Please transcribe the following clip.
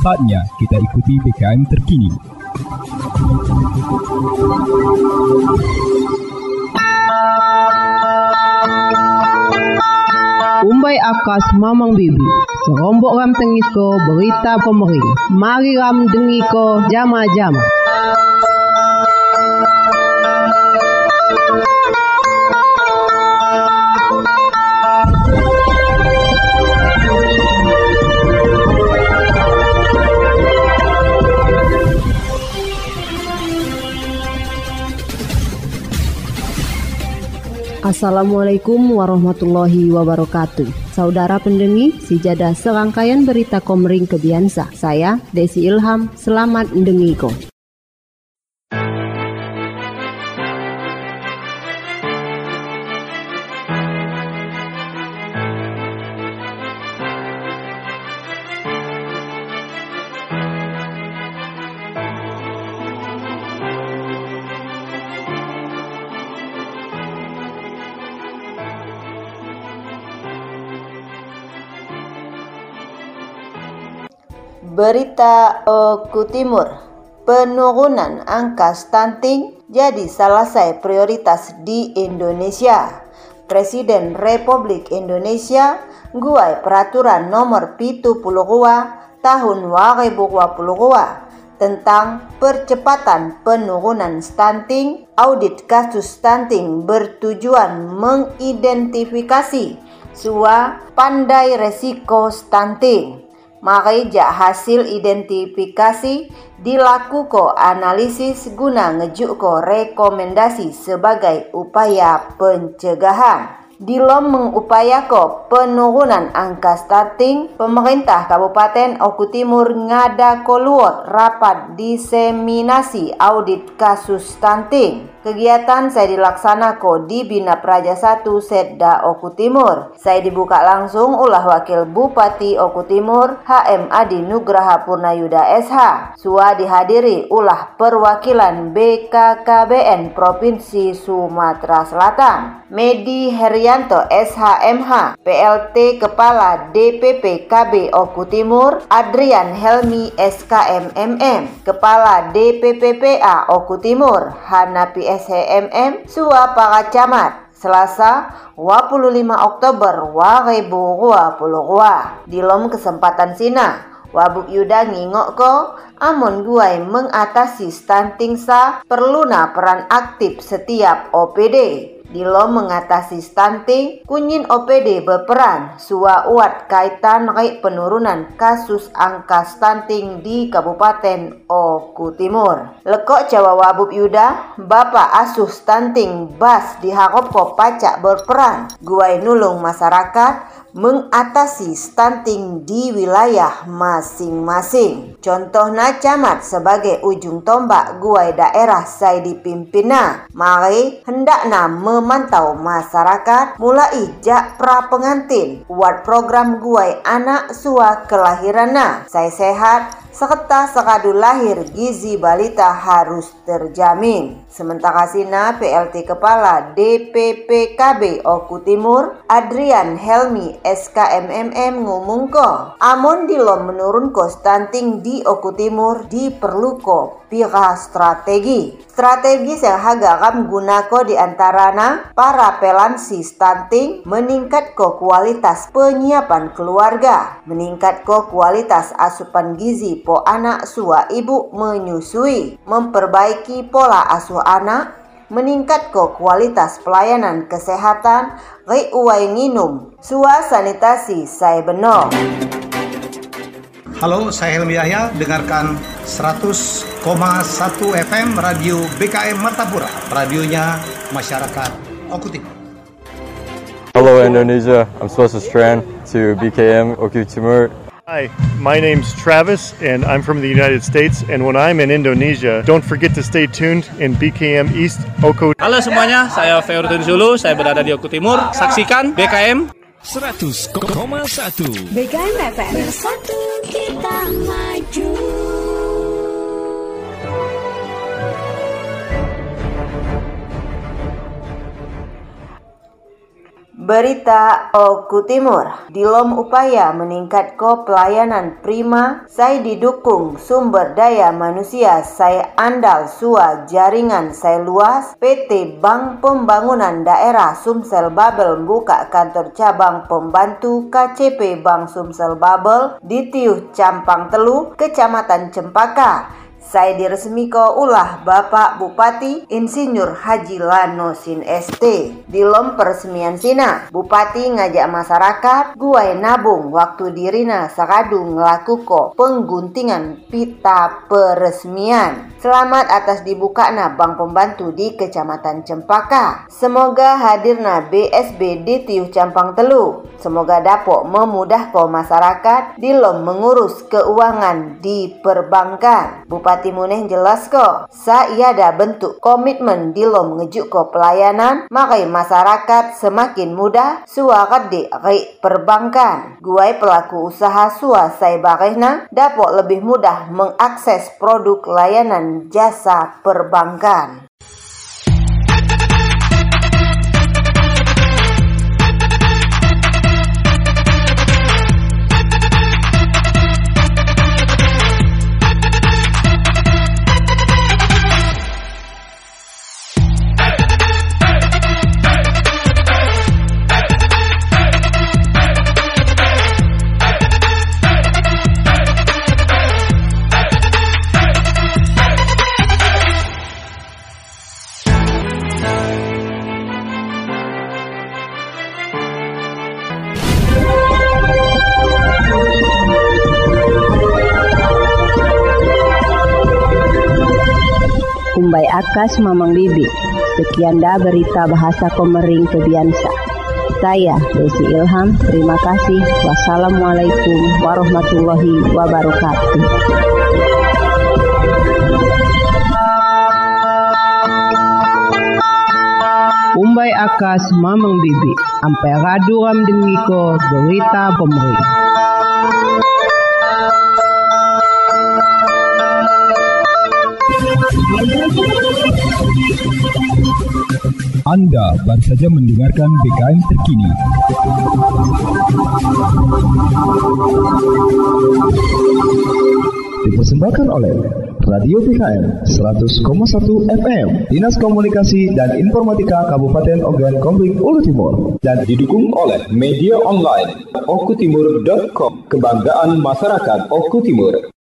Saatnya kita ikuti BKM terkini. Umbai akas mamang bibi, serombok ram tengis ko berita pemering. Mari ram dengi ko jama-jama. Assalamualaikum warahmatullahi wabarakatuh. Saudara pendengi, sejadah serangkaian berita Komering Kebiansa. Saya Desi Ilham, selamat mendengiko. Berita Oku Timur, penurunan angka stunting jadi salah satu prioritas di Indonesia. Presiden Republik Indonesia guai peraturan nomor 72 tahun 2022 tentang percepatan penurunan stunting. Audit kasus stunting bertujuan mengidentifikasi sua pandai resiko stunting. Maka hasil identifikasi dilakukan analisis guna ngejuk rekomendasi sebagai upaya pencegahan. Dilom mengupayako penurunan angka stunting, pemerintah Kabupaten Oku Timur ngada koluot rapat diseminasi audit kasus stunting. Kegiatan saya dilaksanakan di Bina Praja 1 Setda Oku Timur. Saya dibuka langsung ulah Wakil Bupati Oku Timur HM Adi Nugraha Purnayuda SH. Sua dihadiri ulah perwakilan BKKBN Provinsi Sumatera Selatan. Medi Herianto SHMH, PLT Kepala DPP KB Oku Timur, Adrian Helmi SKMMM, Kepala DPPPA Oku Timur, Hanapi SHMM, Sua Para Camat, Selasa 25 Oktober 2022. Dilom kesempatan sina Wabuk Yuda ngingok ko amon guai mengatasi stunting sa perluna peran aktif setiap OPD. Dilo mengatasi stunting, kunyin OPD berperan sua uat kaitan rate penurunan kasus angka stunting di Kabupaten Oku Timur. Lekok Jawa Wabub Yuda, Bapak asuh stunting bas diharap ko pacak berperan guai nulung masyarakat mengatasi stunting di wilayah masing-masing. Contohnya camat sebagai ujung tombak guai daerah saya dipimpinna. Mari hendakna memantau masyarakat mulai jak pra pengantin buat program guai anak sua kelahiranna. Saya sehat serta sekadu lahir gizi balita harus terjamin. Sementara sina PLT Kepala DPPKB Oku Timur Adrian Helmi SKMMM ngomongko amon dilom menurunko stunting di Oku Timur diperluko pira strategi yang hagakam gunako diantarana para pelansi stunting, meningkatko kualitas penyiapan keluarga, meningkatko kualitas asupan gizi po anak sua ibu menyusui, memperbaiki pola asuh anak, meningkatko kualitas pelayanan kesehatan, uai nginum, sua sanitasi saya benar. Halo, saya Helmi Yahya, dengarkan 100,1 FM Radio BKM Martapura, radionya masyarakat Oku Timur. Hello Indonesia, I'm Swastastran to BKM Oku Timur. Hi, my name's Travis and I'm from the United States, and when I'm in Indonesia, don't forget to stay tuned in BKM East Oku. Halo semuanya, saya Feurdun Zulu, saya berada di Oku Timur. Saksikan BKM 100,1 BKM FM. Bersatu kita maju. Berita Oku Timur, dilom upaya meningkat ko pelayanan prima, saya didukung sumber daya manusia, saya andal sua jaringan saya luas. PT Bank Pembangunan Daerah Sumsel Babel buka kantor cabang pembantu KCP Bank Sumsel Babel di Tiuh Campang Telu, Kecamatan Cempaka. Saya diresmiko ulah Bapak Bupati Insinyur Haji Lanosin ST. Dilom peresmian sina, Bupati ngajak masyarakat guai nabung waktu dirina sakadu ngelakuko pengguntingan pita peresmian. Selamat atas dibukana Bank Pembantu di Kecamatan Cempaka. Semoga hadirna BSB di Tiuh Campang Telu. Semoga dapat memudahkan masyarakat dilom mengurus keuangan di perbankan. Bupati Muneh jelas kok, saya ada bentuk komitmen dilom ngejuk ko pelayanan, makai masyarakat semakin mudah suakat di perbankan. Guai pelaku usaha suasai bakehna dapat lebih mudah mengakses produk layanan jasa perbankan. Kumbai akas Mamang Bibi. Sekian dah berita bahasa Komering Kebiansa. Saya Desi Ilham, terima kasih. Wassalamualaikum warahmatullahi wabarakatuh. Kumbai akas Mamang Bibi. Ampai radu ram dengiko berita Komering. Anda baru saja mendengarkan BKM terkini. Dipersembahkan oleh Radio BKM 100,1 FM, Dinas Komunikasi dan Informatika Kabupaten Ogan Komering Ulu Timur, dan didukung oleh media online okutimur.com, kebanggaan masyarakat Oku Timur.